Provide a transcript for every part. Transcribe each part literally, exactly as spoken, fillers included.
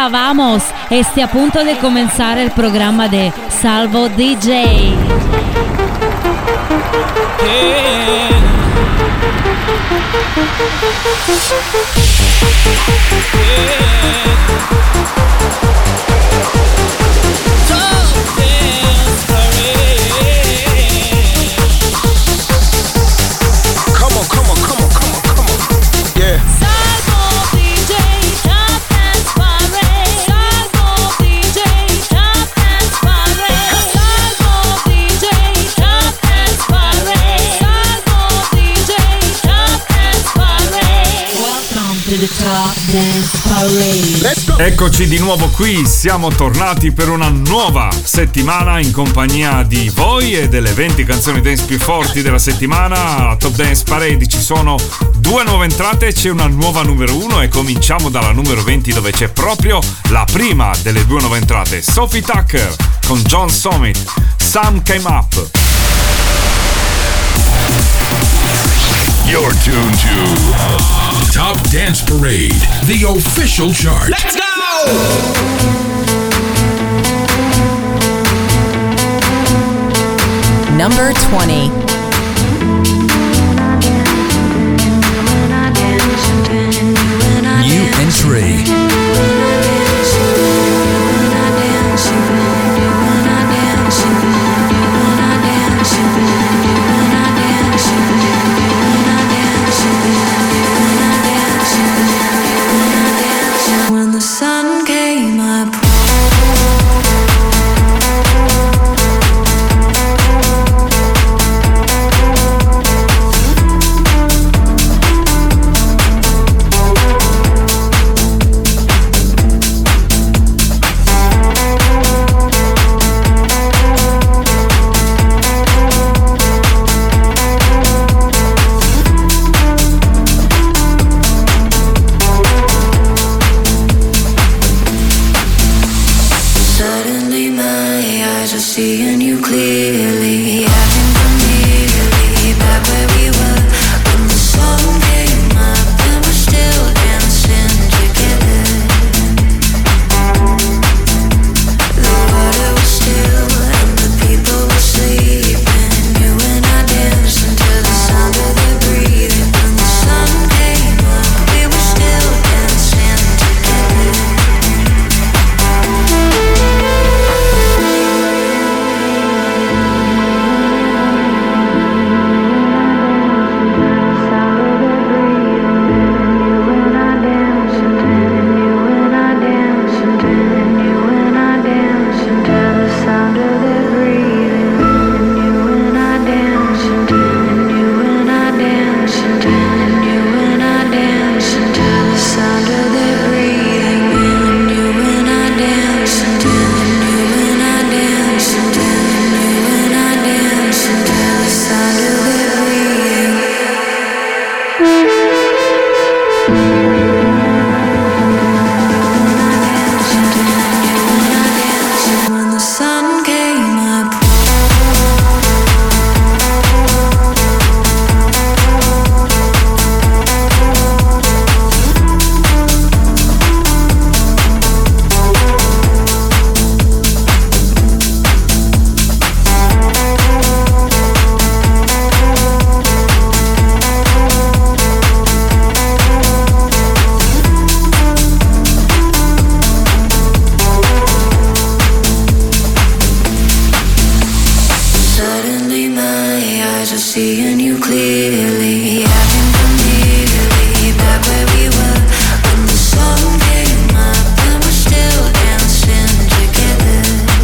Hola, vamos. Este a punto de comenzar el programa de Salvo D J. Yeah. Come on, come on, come on, come on, come on. Yeah. Salvo D J, Top Dance Parade. Salvo D J, Top Dance Parade. Salvo D J, Top Dance Parade. Salvo D J, Top Dance Parade. Welcome to the Top Dance Parade. Let's go. Eccoci di nuovo qui, siamo tornati per una nuova settimana in compagnia di voi e delle venti canzoni dance più forti della settimana. Alla Top Dance Parade ci sono due nuove entrate, c'è una nuova numero uno e cominciamo dalla numero venti dove c'è proprio la prima delle due nuove entrate, Sophie Tucker con John Summit, Some Came Up. You're tuned to Top Dance Parade, the official chart. Let's go! Number twenty. New entry. When the sun came up. Suddenly my eyes are seeing you clearly. I can immediately back where we were when the sun came up and we're still dancing together. The water was still and the people were sleeping. You and I danced until the sound of their breathing. When the sun came up, we were still dancing together. When the sun came up. Suddenly my eyes are seeing you clearly. I can immediately back where we were when the sun came up and we're still dancing together.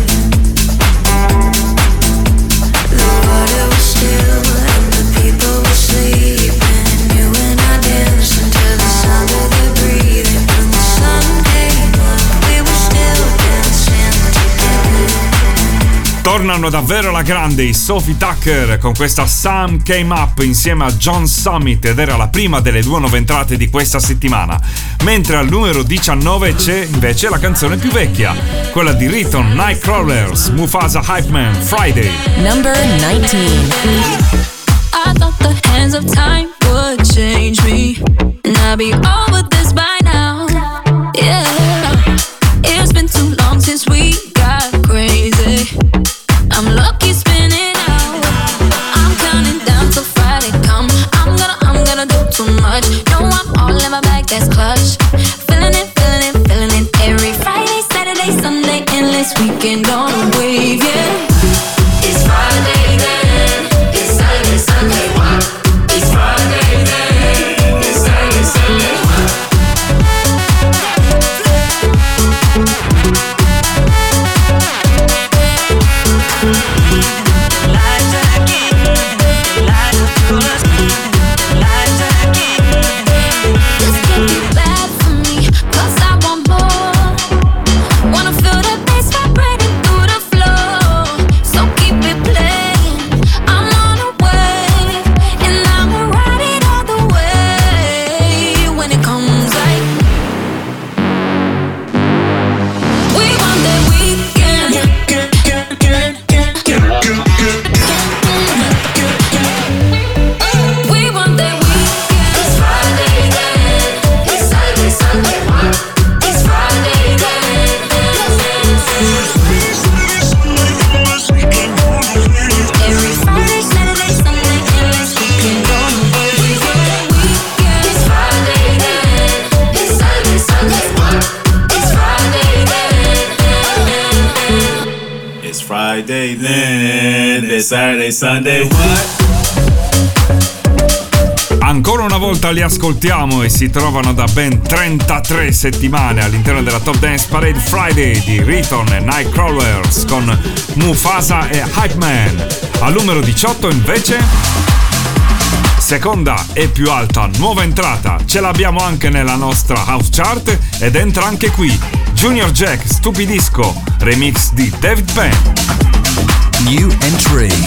The water was still and the people were sleeping. You and I danced until the sound of their breathing. When the sun came up, we were still dancing together. Tornano davvero alla grande i Sophie Tucker con questa Some Came Up insieme a John Summit ed era la prima delle due nuove entrate di questa settimana. Mentre al numero diciannove c'è invece la canzone più vecchia, quella di Riton, Nightcrawlers, Mufasa Hype Man, Friday. Number nineteen. I thought the hands of time would change me, and I'd be over this by now. Yeah. Friday, then then Saturday, Sunday, what? Ancora una volta li ascoltiamo e si trovano da ben trentatré settimane all'interno della Top Dance Parade Friday di Riton e Nightcrawlers con Mufasa e Hype Man. Al numero diciotto invece, seconda e più alta nuova entrata, ce l'abbiamo anche nella nostra house chart ed entra anche qui Junior Jack, Stupidisco, remix di David Penn. New entry.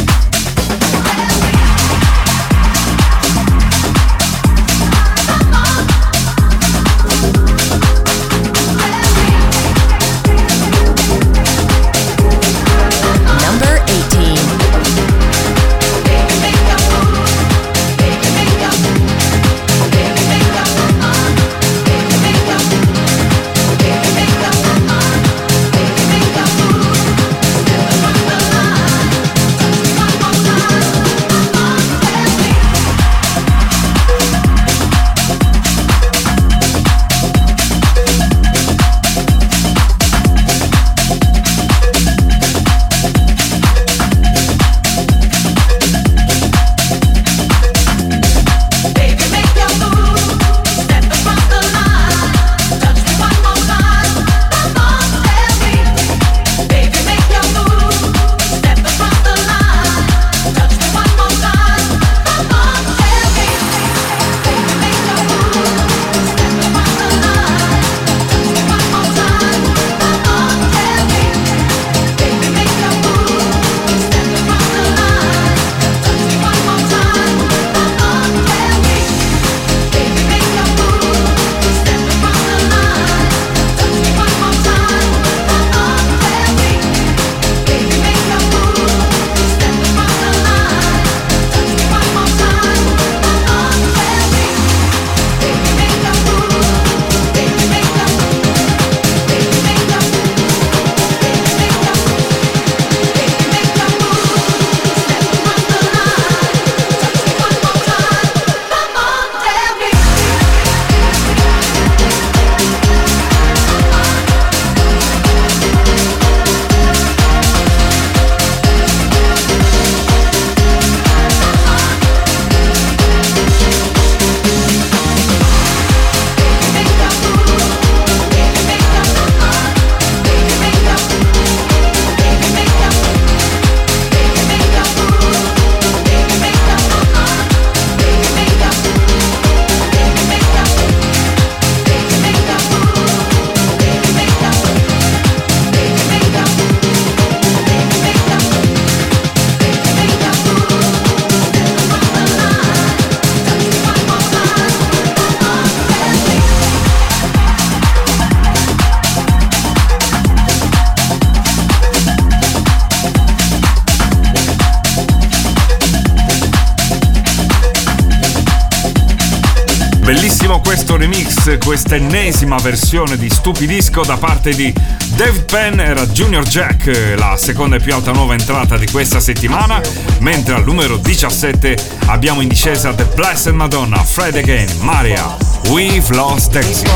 Bellissimo questo remix, questa ennesima versione di Stupidisco da parte di David Penn. Era Junior Jack, la seconda e più alta nuova entrata di questa settimana, mentre al numero diciassette abbiamo in discesa The Blessed Madonna, Fred Again, Maria, We've Lost Dancing.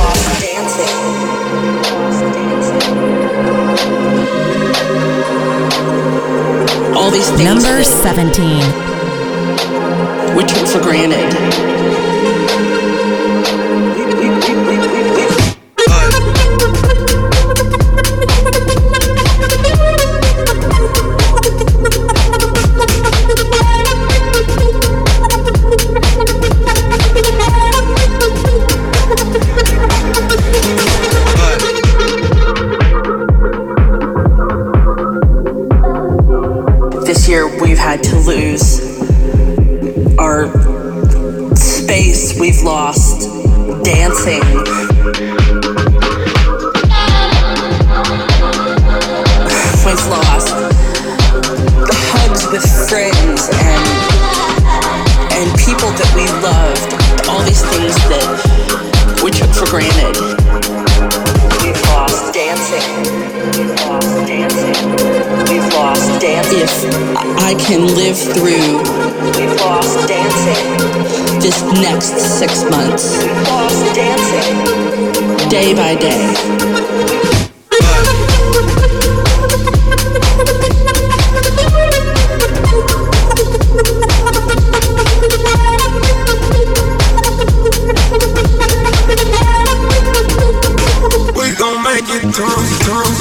All these things Number seventeen. we took for granted. This year we've had to lose our space, we've lost dancing. We've lost the hugs with friends and and people that we loved, all these things that we took for granted. We've lost dancing. We've lost dancing. We've lost dancing. If I can live through We've lost dancing. This next six months. We've lost dancing. Day by day. might get drunk, drunk.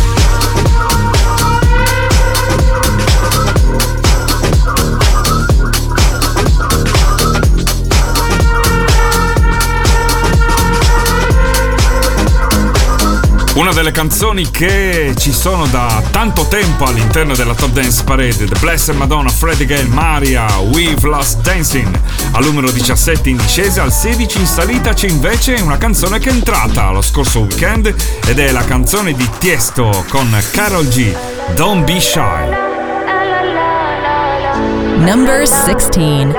Una delle canzoni che ci sono da tanto tempo all'interno della Top Dance Parade, The Blessed Madonna, Freddie Gale, Maria, We've Lost Dancing. Al numero diciassette in discesa, al sedici in salita c'è invece una canzone che è entrata lo scorso weekend ed è la canzone di Tiesto con Karol G, Don't Be Shy. Number sixteen.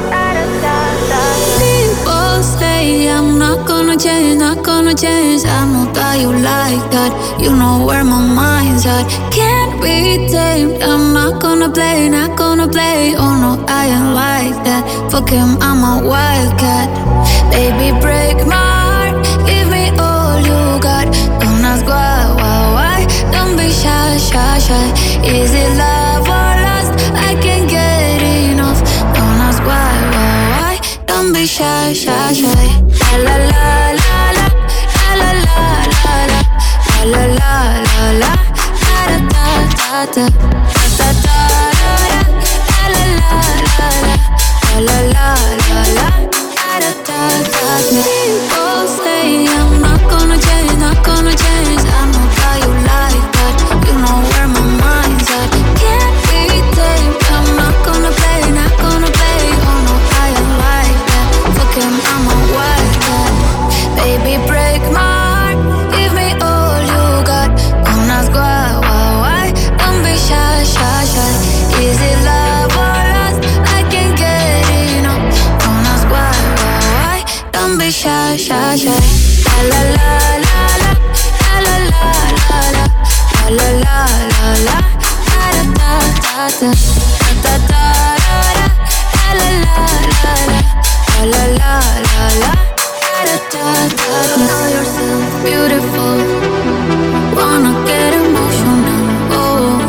People say I'm not gonna change, not gonna change. I know that you like that. You know where my mind's at. Can't be tamed. I'm not gonna play, not gonna play. Oh no, I ain't like that. Fuck him, I'm a wildcat. Baby, break my heart. Give me all you got. Don't ask why, why, why. Don't be shy, shy, shy. Is it love or lust? I can't get enough. Don't ask why, why, why. Don't be shy, shy, shy. La la la la la, la la la la la, la la la la, da da da da, da da da, la la la la, la la la la, da da da da. People say I'm not gonna change, not gonna change. I know how you like that. You know where my mind's at. Can't be tamed. I'm not gonna play, not gonna play. Oh no, I ain't like that. Fuck him, I'm a wildcat. Baby, break my heart. Give me all you got. Don't ask why, why, why. Don't be shy, shy, shy. Is it love or lust? I can't get enough. Don't ask why, why, why. Don't be shy, shy, shy. La la la la la, la la la la la, la la la la, da da da da, da da da, la la la la, la la la la, da da da. Know yourself beautiful. Wanna get emotional. Oh,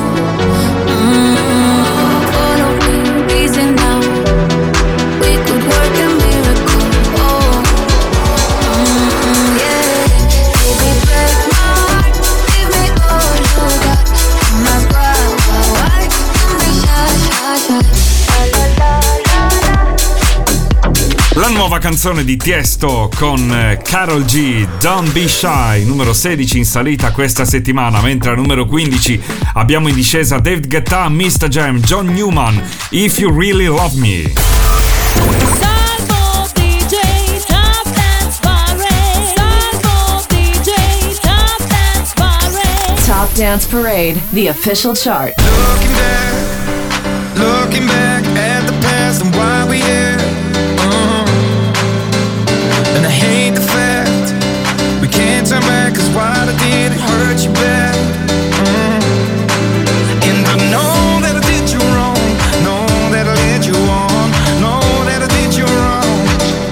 mm, follow me, reason now. We could work a miracle. Oh, mm, yeah. Baby, break my heart. Give me all you got. Don't ask why, why, why. Don't be shy, shy, shy. La la la la. La nuova canzone di Tiesto con Karol G, Don't Be Shy, numero sedici in salita questa settimana, mentre al numero quindici abbiamo in discesa David Guetta, mister Jam, John Newman, If You Really Love Me. Salvo D J Top Dance Parade. Salvo D J Top Dance Parade. Top Dance Parade, the official chart. Looking back, looking back at the past and why we here. Uh-huh. And I hate the fact we can't turn back, cause what I did, it hurt you bad. Uh-huh. And I know that I did you wrong, know that I led you on, know that I did you wrong.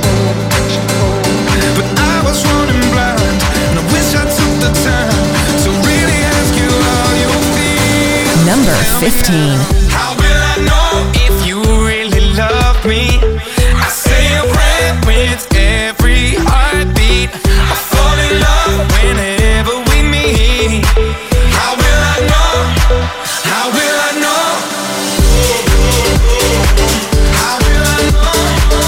But I was running blind, and I wish I took the time to really ask you how you feel. Number fifteen. How will I know if you really love me? I say a prayer with every heartbeat. I fall in love whenever we meet. How will I know? How will I know? How will I know?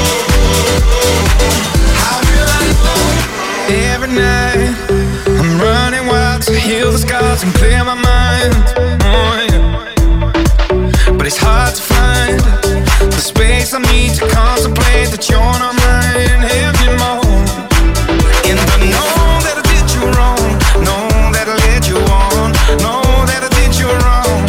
How will I know? Every night I'm running wild to heal the scars and clear my mind. Oh, yeah. But it's hard to find the space I need to contemplate that you're not mine anymore. And I know that I did you wrong, know that I led you on, know that I did you wrong.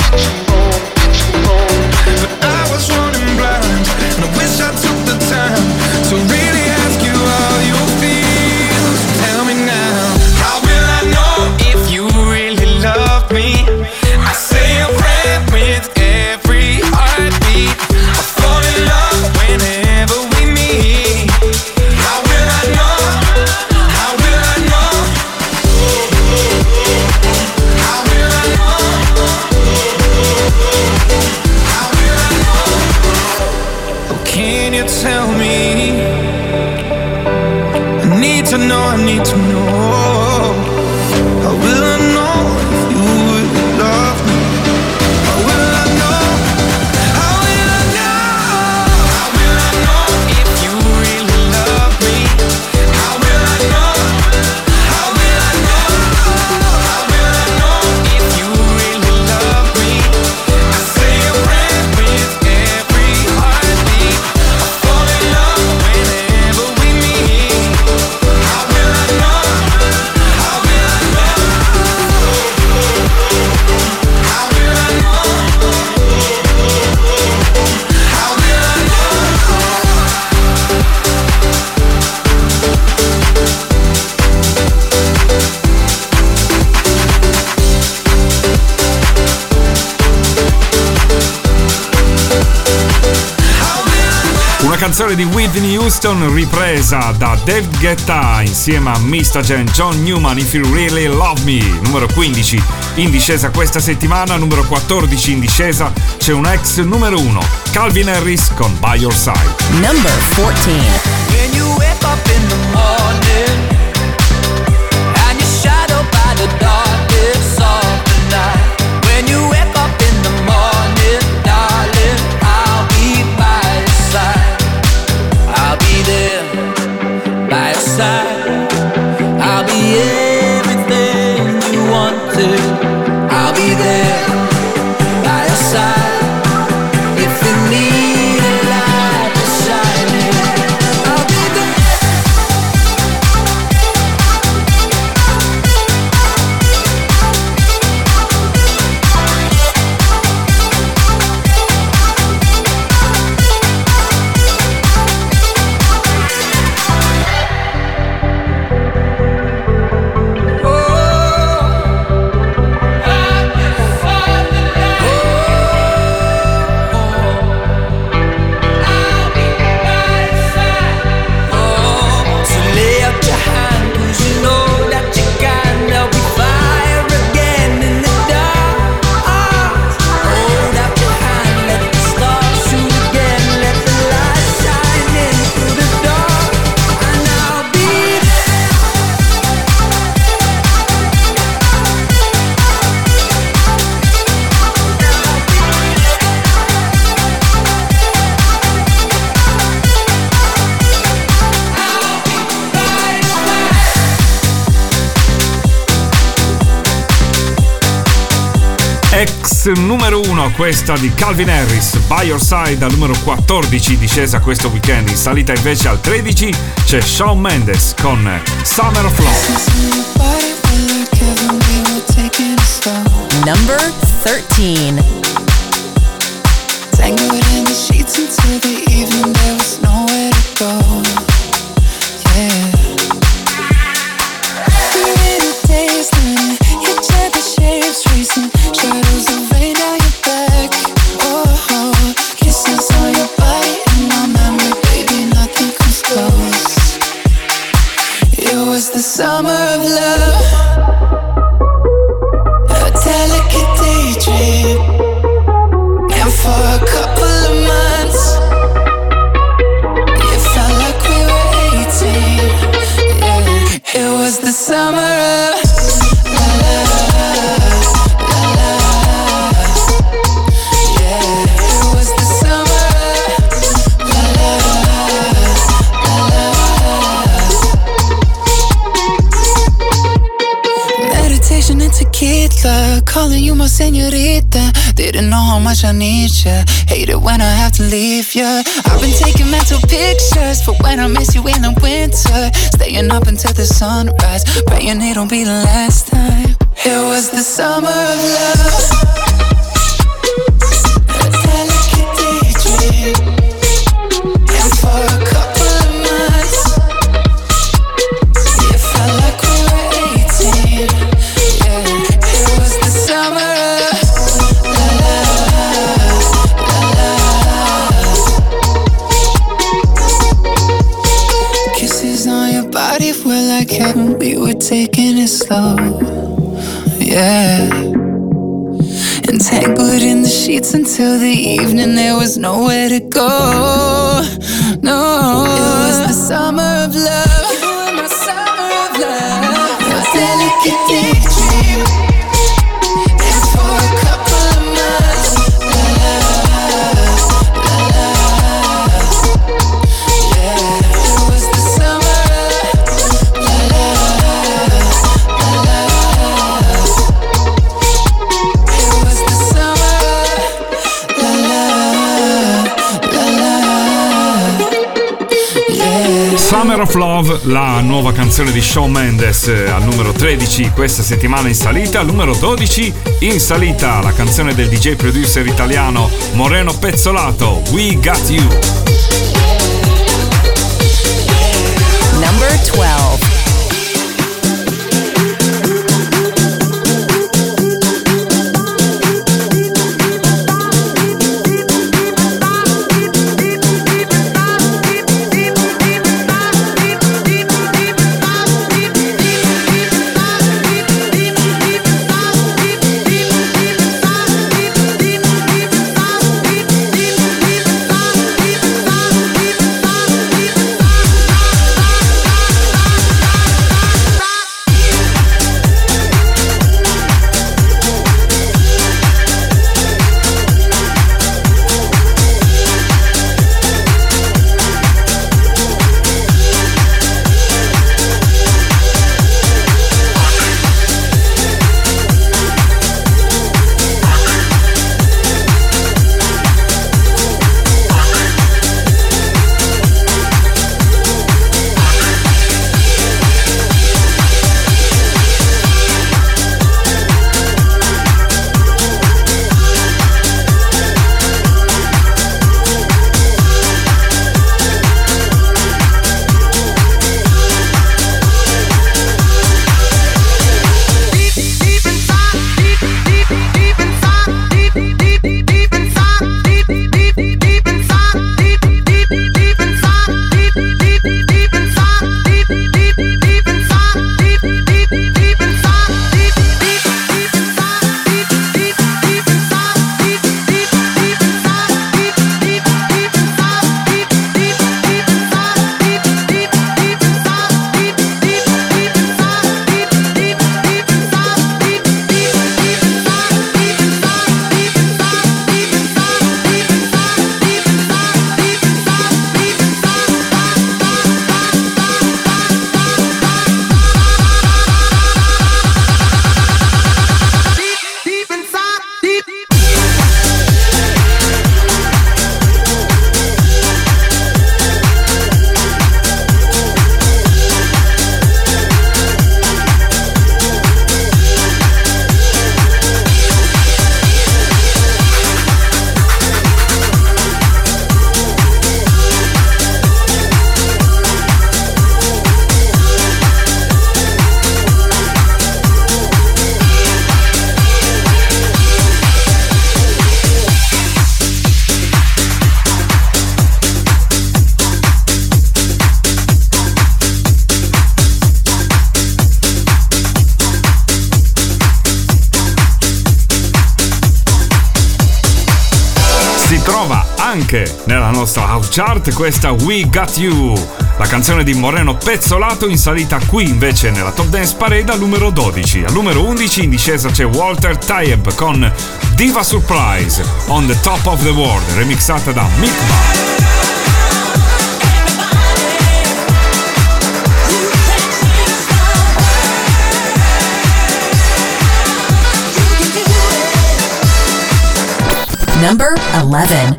But I was running blind, and I wish I took the time to really ask you how you feel. So tell me now, how will I know if you really love me? I say a prayer with every heartbeat. I fall in love whenever we meet. How will I know? How will I know? How will I know? How will I know? Oh, can you tell me? I need to know, I need to know. canzone di Whitney Houston ripresa da Dave Guetta insieme a Mista Jen, John Newman, If You Really Love Me. Numero quindici in discesa questa settimana. Numero quattordici in discesa c'è un ex numero uno, Calvin Harris con By Your Side. Number fourteen. When you wake up in the morning and you're shadowed by the darkness of the night. When you wake up in the morning, darling, I'll be by your side. I'll be there by your side. I'll be everything you wanted. I'll be there by your side. If you need a light to shine in, I'll be there. So lay out your hand, 'cause you know that you can. There'll be fire again in the dark. Hold out your hand, let the stars shoot again. Let the light shine in through the dark, and I'll be there. Ex numero uno questa di Calvin Harris, By Your Side, al numero quattordici in discesa questo weekend. In salita invece al tredici c'è Shawn Mendes con Summer of Love. Number thirteen. Tangled in the sheets until the evening, there was nowhere to go. Yeah. Pretty days learning, your gentle shapes tracing, shadows of rain down your back. Oh, oh, kisses on your body and my memory, baby, nothing comes close. It was the summer of love, a delicate daydream. And for a couple of months, it felt like we were eighteen. Yeah. It was the summer of la la la la. Yeah. It was the summer of la la la la. Meditation and tequila, calling you my señorita. Didn't know how much I need ya. Hate it when I have to leave ya. I've been taking mental pictures for when I miss you in the winter. Staying up until the sunrise, praying it'll be the last time. It was the summer of love, a delicate daydream. And for a couple of months, it felt like we were eighteen. Yeah, it was the summer of la la la la. Kisses on your body were like heaven, we were taking it slow. Yeah. Entangled in the sheets until the evening, there was nowhere to go. No, it was the summer of love. You were my summer of love, a delicate daydream. And for a couple of months, la la la la. Yeah, it was the summer of la la la la. It was the summer of la la la la. Yeah. Summer of Love, la nuova canzone di Shawn Mendes, eh, al numero tredici questa settimana in salita. Al numero dodici in salita la canzone del D J producer italiano Moreno Pezzolato, We Got You. Number twelve. anche nella nostra house chart questa We Got You, la canzone di Moreno Pezzolato, in salita qui invece nella Top Dance Parade al numero dodici. Al numero undici in discesa c'è Walter Tayeb con Diva Surprise, On the Top of the World, remixata da Milk Bar. Number eleven.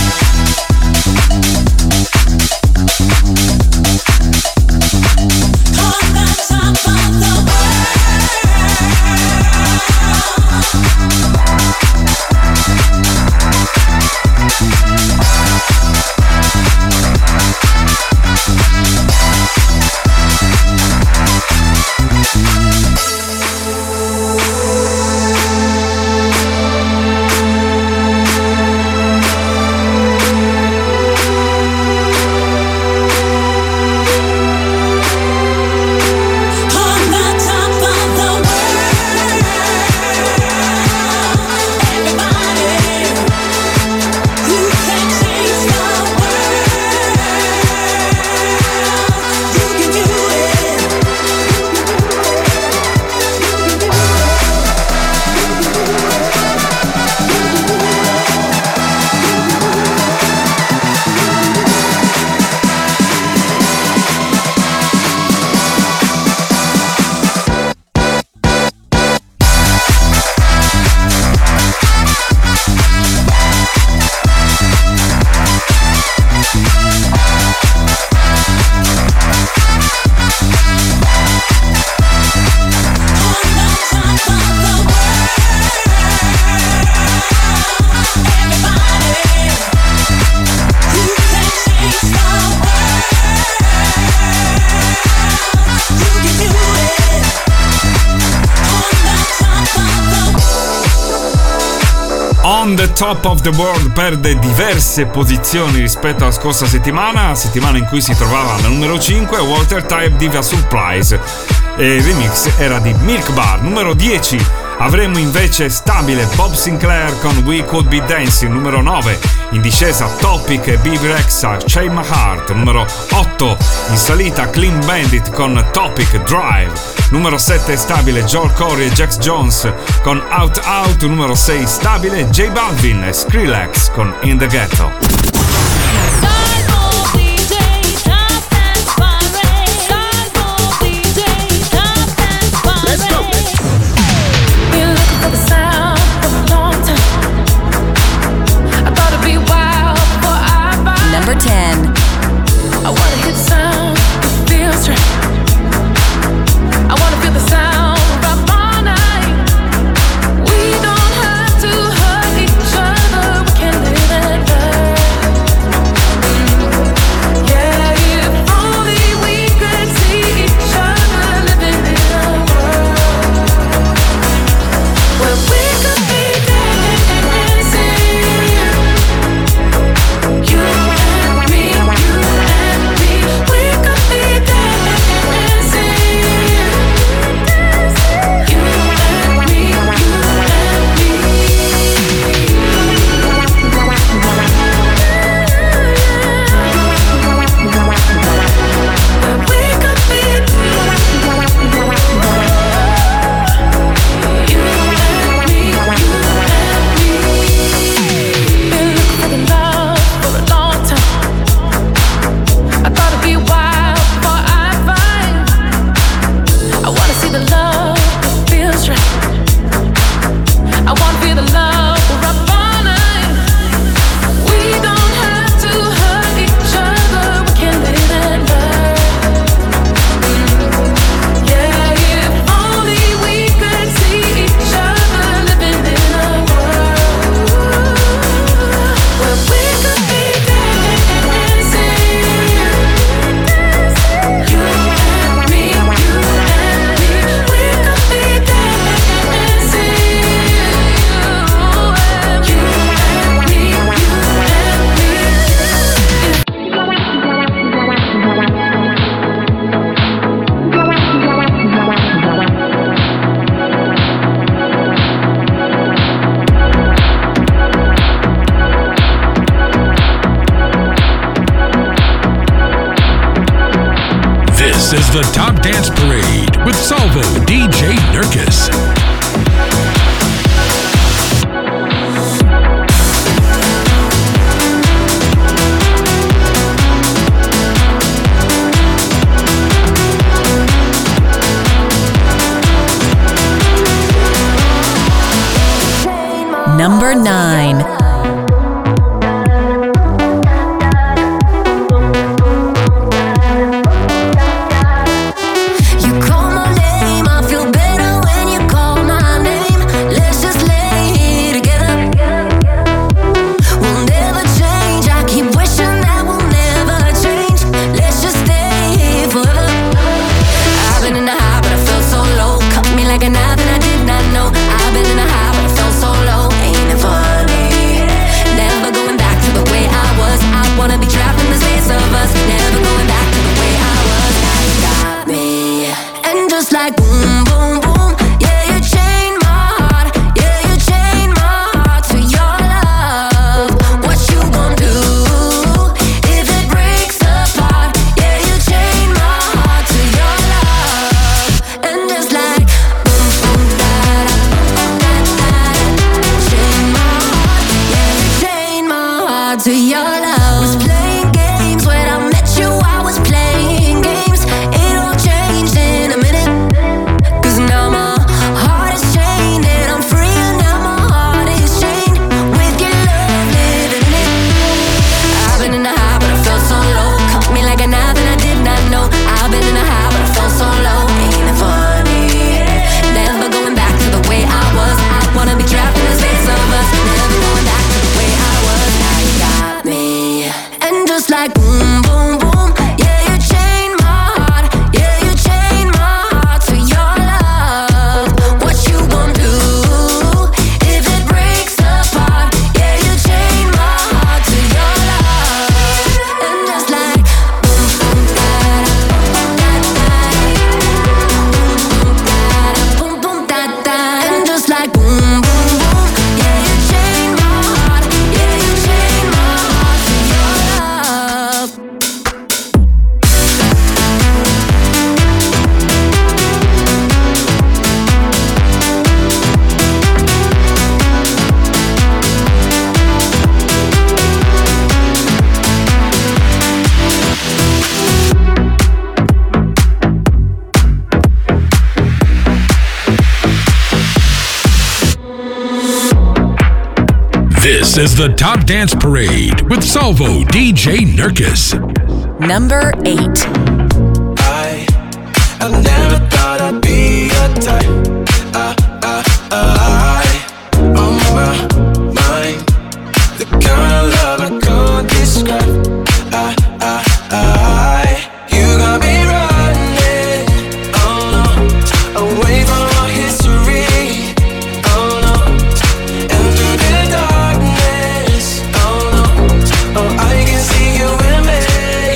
On the Top of the World perde diverse posizioni rispetto alla scorsa settimana, settimana in cui si trovava al numero cinque, Walter Tayeb Diva Surprise, e il remix era di Milk Bar. Numero dieci avremo invece stabile Bob Sinclair con We Could Be Dancing. Numero nove in discesa Topic e B B Rexha, Shake My Heart. Numero otto in salita Clean Bandit con Topic Drive. Numero sette stabile Joel Corey e Jax Jones con Out Out. Numero sei stabile J Balvin e Skrillex con In the Ghetto. Number ten. I wanna hit sound, it feels right. I wanna feel the sound of all night. We don't have to hurt each other, we can live and learn. the Top Dance Parade with Salvo D J Nurkis. Number nine. This is the Top Dance Parade with Salvo D J Nurkis. Number eight. I, I never thought I'd be a type. I, I, I, on my mind, the kind of love I can't describe. I, I, I, you got me running, oh no, away from our history, oh no, and through the darkness, oh no, oh I can see you in me.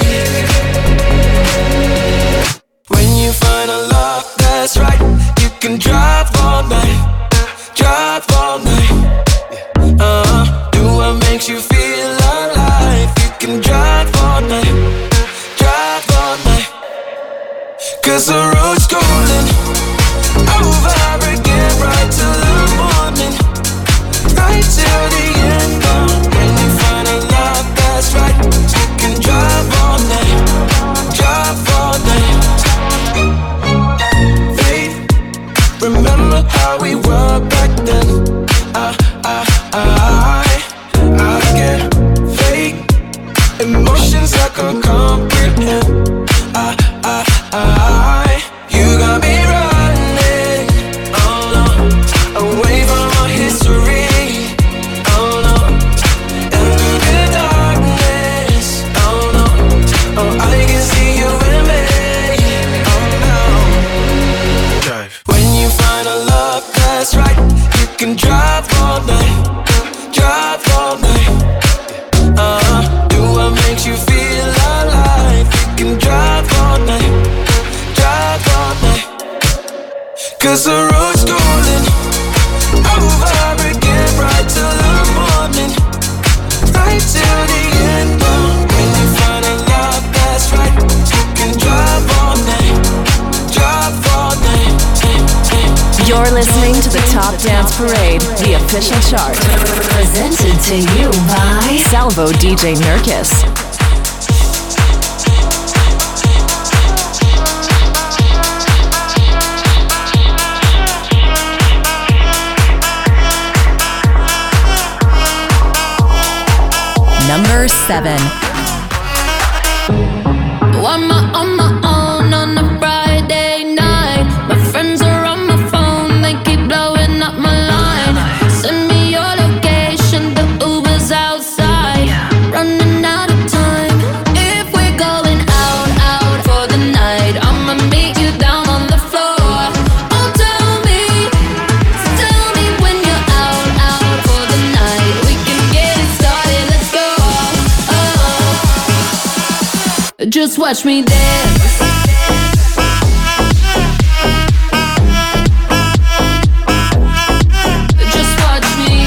When you find a love that's right, you can drive all night, drive all night. Uh, do what makes you feel alive. You can drive all night, drive all night. Cause the road's calling, over again, right till the morning, right till the end. Uh, when you find a love that's right, you can drive all night, drive all night. Faith, remember how we were back then. I, I, I, I get fake emotions I can't comprehend. I, I, I, you got me running, oh no, away from our history, oh no, and through the darkness, oh no, oh I can see you in me, oh no. Drive. When you find a love that's right, you can drive all night, drive all night. Uh, do what makes you feel alive. You can drive all night, drive all night. Cause the road's calling, over again, right till the morning, right till the end. Uh, when you find a love that's right, you can drive all night, listening to the Top Dance Parade, the official chart. Presented to you by Salvo D J Nurkis. Number seven. On my, on my own on a Friday night. My friends are on my phone, they keep blowing up my line. Send me your location, the Uber's outside. Running out of time. If we're going out, out for the night, I'ma meet you down on the floor. Oh, tell me, tell me when you're out, out for the night. We can get it started, let's go. Oh. Just watch me dance. Just watch me.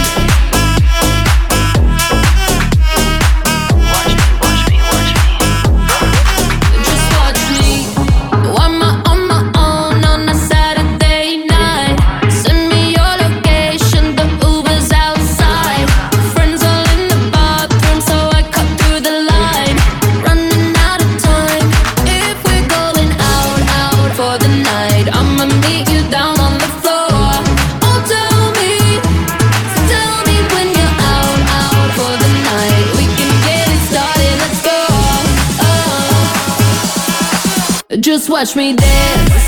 Watch me, watch me, watch me. Just watch me. On my, on my own on a Saturday night. Send me your location, the Uber's outside. Friends all in the bathroom, so I cut through the line. Running out of time. If we're going out, out for the night, I'ma meet you down on the floor. Oh, tell me, tell me when you're out, out for the night. We can get it started, let's go. Oh. Just watch me dance.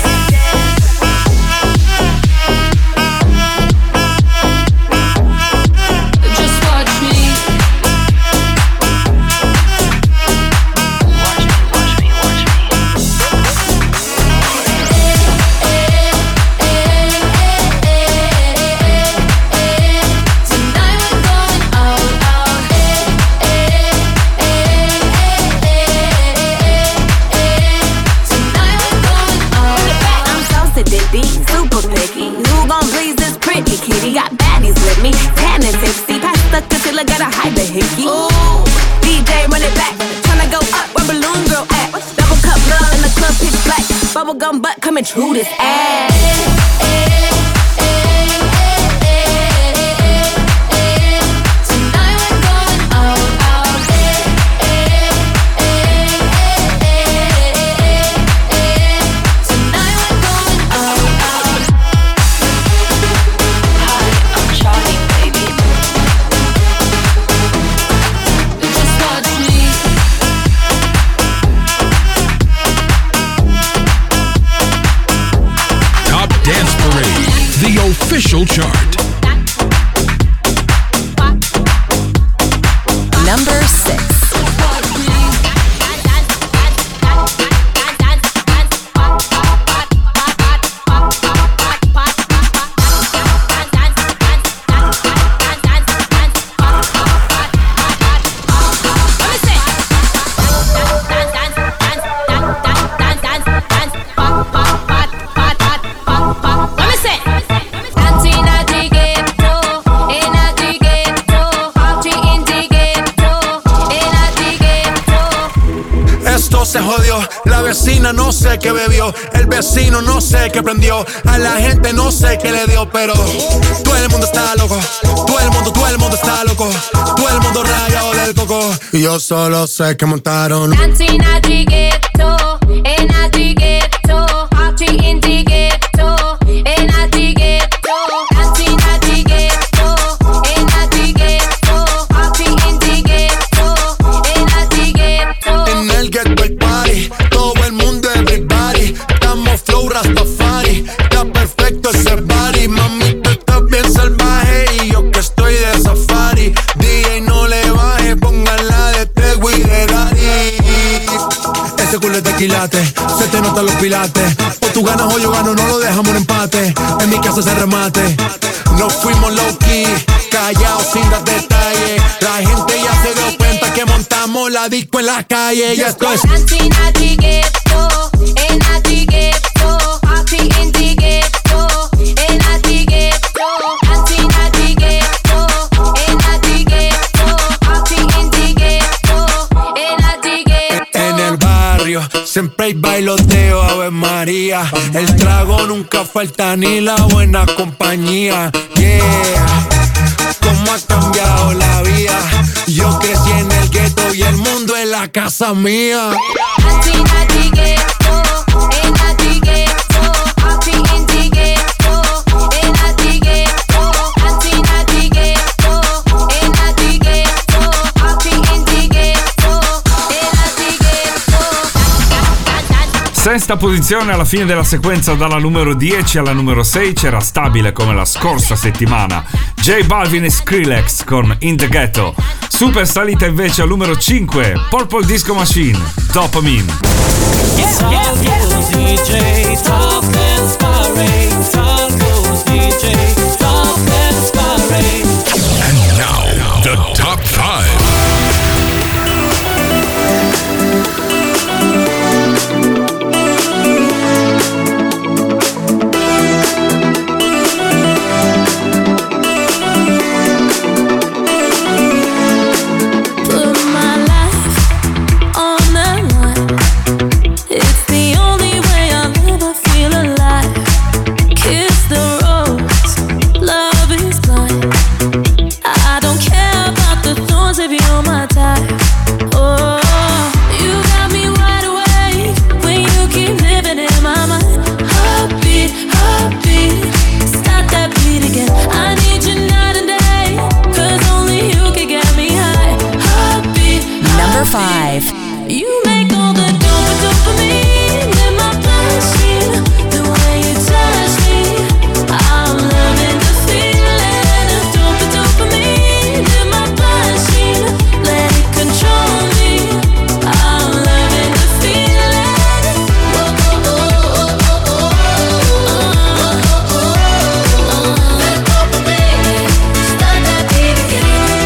Just watch me. Watch me, watch me, watch me. Tonight we're going out, out. Tonight we're going out. I'm so sedity, super picky. Who gon' please this pretty kitty? Got baddies with me, tan and tipsy. Pass the concealer, gotta hide the hickey. Ooh, D J run it back, tryna go up where balloon girl at. Double cup love in the club, pitch black. Bubblegum butt coming through this ass. Tonight we're going out, out. Tonight we're going out, out. Hi, I'm Charlie, baby. Just watch me. Top Dance Parade, the official chart. Number six. Esto se jodió, la vecina no sé qué bebió, el vecino no sé qué prendió, a la gente no sé qué le dio, pero todo el mundo está loco, todo el mundo, todo el mundo está loco, todo el mundo rayado del coco, y yo solo sé que montaron. Dancing at the ghetto, in at the ghetto, party in the ghetto, in at the ghetto, dancing at the ghetto, in at the ghetto, party in the ghetto, in at the ghetto. En el ghetto hay party, todo el mundo everybody, estamos flow Rastafari, está perfecto ese body, mami tú estás bien salvaje y yo que estoy de safari, D J no le baje, póngala de Tego y de Daddy. Ese culo es de quilate, se te notan los pilates, o tú ganas o yo gano, no lo dejamos en empate, en mi casa se remate, nos fuimos low key, callados sin dar detalles, la gente ya se dio cuenta que montamos la disco en la calle, ya esto es. Dancing at the ghetto, in at the ghetto, party in the ghetto, in at the ghetto, dancing at the ghetto, in at the ghetto, party in the ghetto, in at the ghetto. En el barrio siempre hay bailoteo, Ave María, el trago nunca falta ni la buena compañía. Yeah, cómo ha cambiado la vida. Yo crecí en el gueto y el mundo es la casa mía. Sesta posizione alla fine della sequenza dalla numero dieci alla numero sei, c'era stabile come la scorsa settimana J Balvin e Skrillex con In The Ghetto. Super salita invece al numero cinque, Purple Disco Machine, Dopamine. Yeah, yeah, yeah. D J Top Dance Parade, Salvo's D J Top Dance Parade. And now, the top five. Five. You make all the dope dopamine in my bloodstream. The way you touch me, I'm loving the feeling of dope dopamine in my bloodstream. Let it control me. I'm loving the feeling. Oh, oh, oh, oh, oh, oh, oh, oh. That dopamine, start that beat again.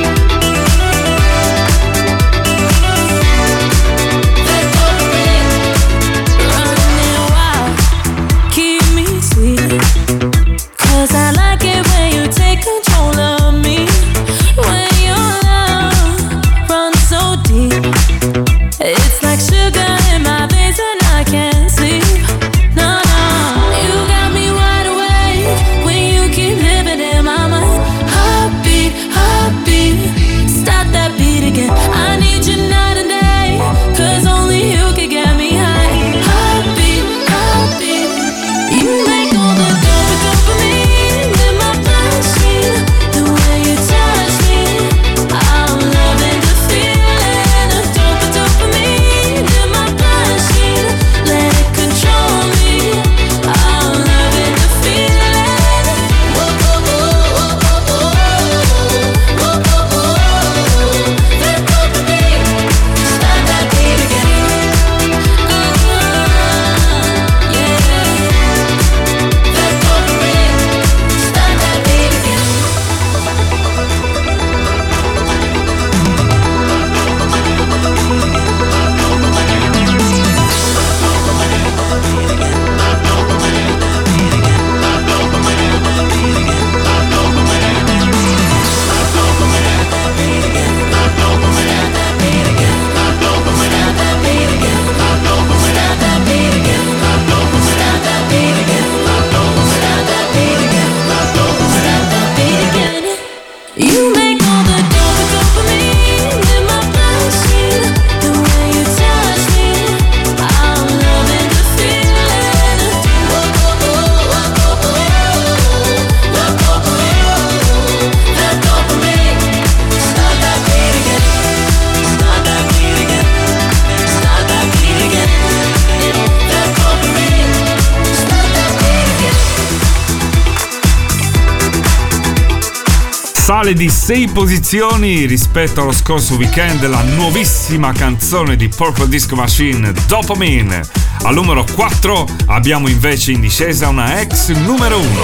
Sale di sei posizioni rispetto allo scorso weekend la nuovissima canzone di Purple Disco Machine, Dopamine. Al numero quattro abbiamo invece in discesa una ex numero uno.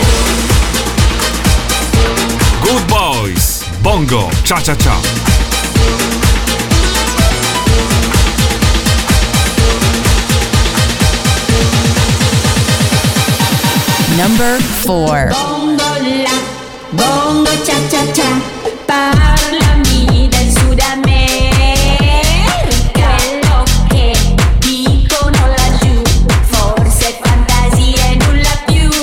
Good Boys, Bongo, Cha Cha Cha. Number four. Bongo cha cha cha, parlami del Sud America. Quello che dicono laggiù, forse fantasia e nulla più.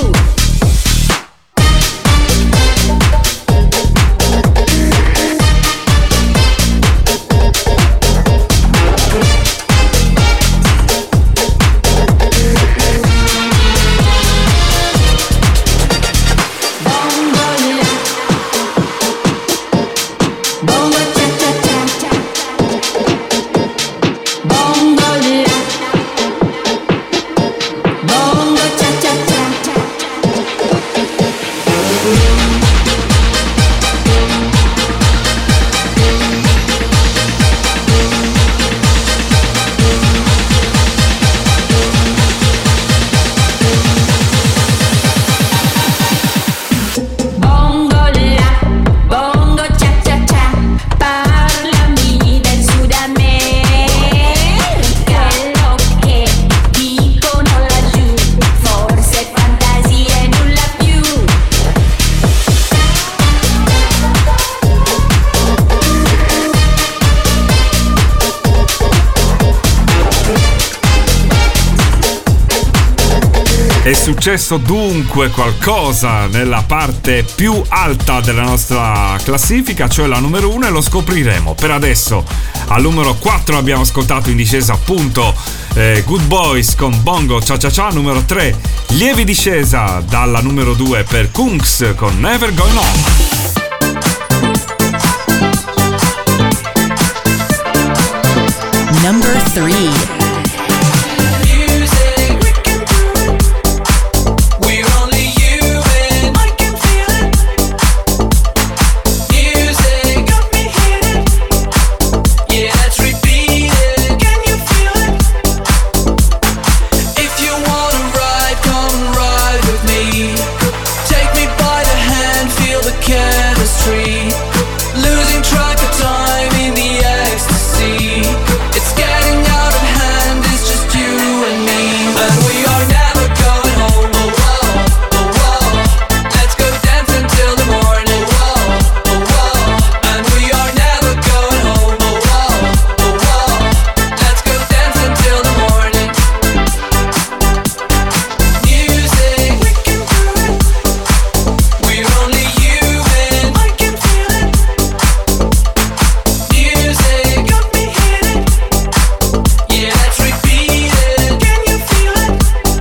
È successo dunque qualcosa nella parte più alta della nostra classifica, cioè la numero uno, e lo scopriremo. Per adesso al numero quattro abbiamo ascoltato in discesa appunto eh, Good Boys con Bongo Cha Cha Cha. Numero tre, lievi discesa dalla numero due per Kungs con Never Going On. Number three. Losing track of time in the ecstasy. It's getting out of hand, it's just you and me. And we are never going home, oh whoa, oh whoa. Let's go dance until the morning, whoa, oh whoa. And we are never going home, oh whoa, oh whoa. Let's go dance until the morning. Music, we can do it. We're only human, I can feel it. Music got me hitting. Yeah, let's repeat it. Can you feel it?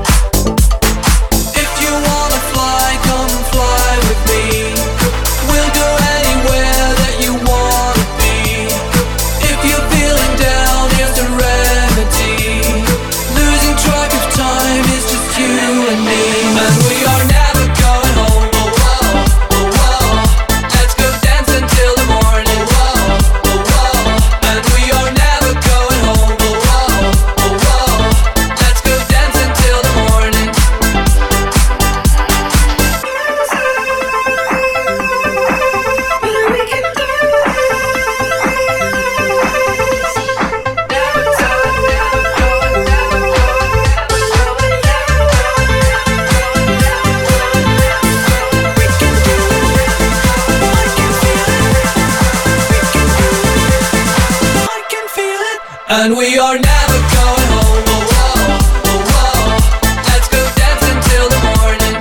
If you wanna fly, come fly with me. We'll go anywhere that you wanna be. If you're feeling down, here's the remedy. Losing track of time is just you and me. And we are never going home, oh whoa, oh whoa. Let's go dance until the morning, whoa, oh whoa. And we are never going home, oh whoa, oh whoa. Let's go dance until the morning. I can feel it. And we are never going home, oh whoa, oh whoa. Let's go dance until the morning.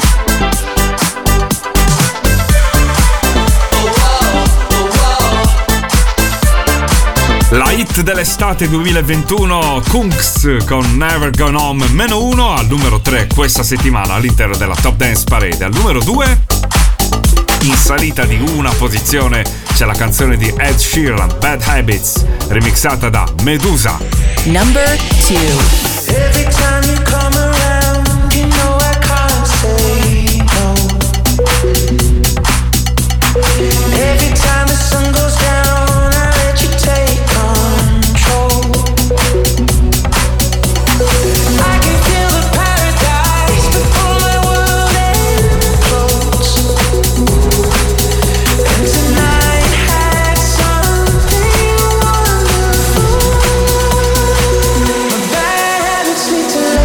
Oh whoa, oh whoa. La hit dell'estate duemilaventuno, Kungs con Never Gone Home, meno uno al numero tre questa settimana all'interno della Top Dance Parade. Al numero due, in salita di una posizione, c'è la canzone di Ed Sheeran, Bad Habits, remixata da Medusa. Number two. Every time you come around, you know I can't say no. Every time the sun goes down, I let you take control. I can feel the paradise before my world implodes. And tonight had something wonderful. My bad habits lead to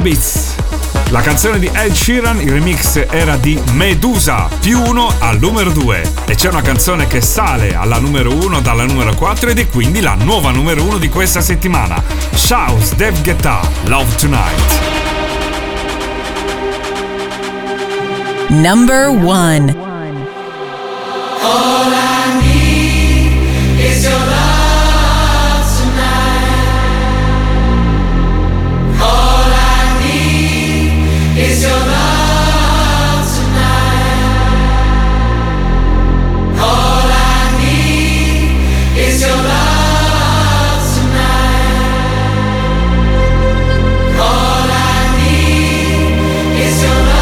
Habits. La canzone di Ed Sheeran, il remix era di Medusa, più uno al numero due. E c'è una canzone che sale alla numero uno dalla numero quattro ed è quindi la nuova numero uno di questa settimana. Shouse, David Guetta, Love Tonight. Number one. All I need is your love tonight. All I need is your love tonight. All I need is your love tonight. All I need is your love.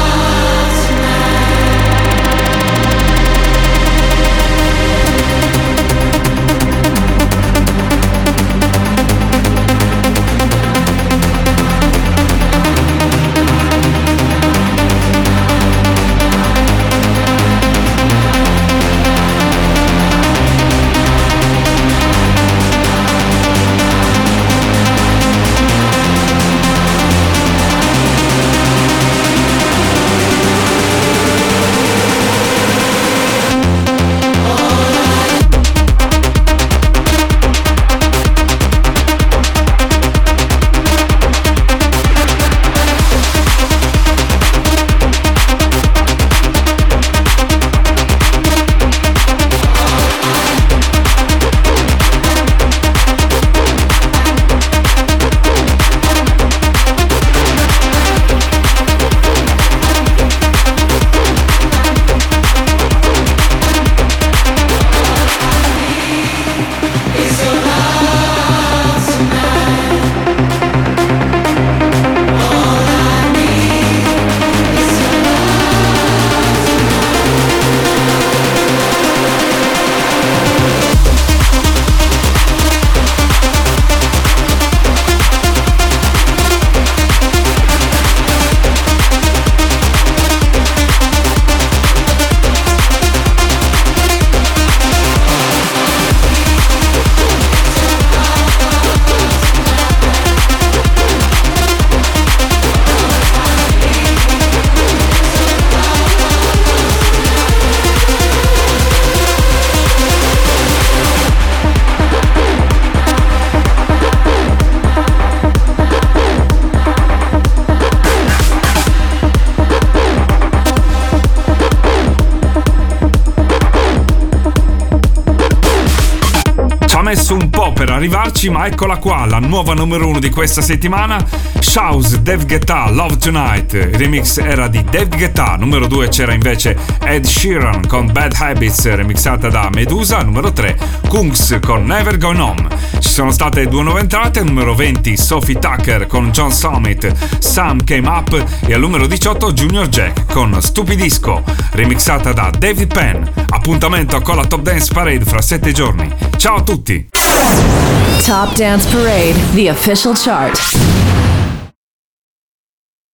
Messo un po' per arrivarci, ma eccola qua, la nuova numero uno di questa settimana. Shouse, David Guetta, Love Tonight. Il remix era di David Guetta. Numero due c'era invece Ed Sheeran con Bad Habits, remixata da Medusa. Numero tre Kungs con Never Gone Home. Ci sono state due nuove entrate. Numero venti Sophie Tucker con John Summit, Some Came Up. E al numero diciotto Junior Jack con Stupidisco, remixata da David Penn. Appuntamento con la Top Dance Parade fra sette giorni. Ciao a tutti! Top Dance Parade, the official chart.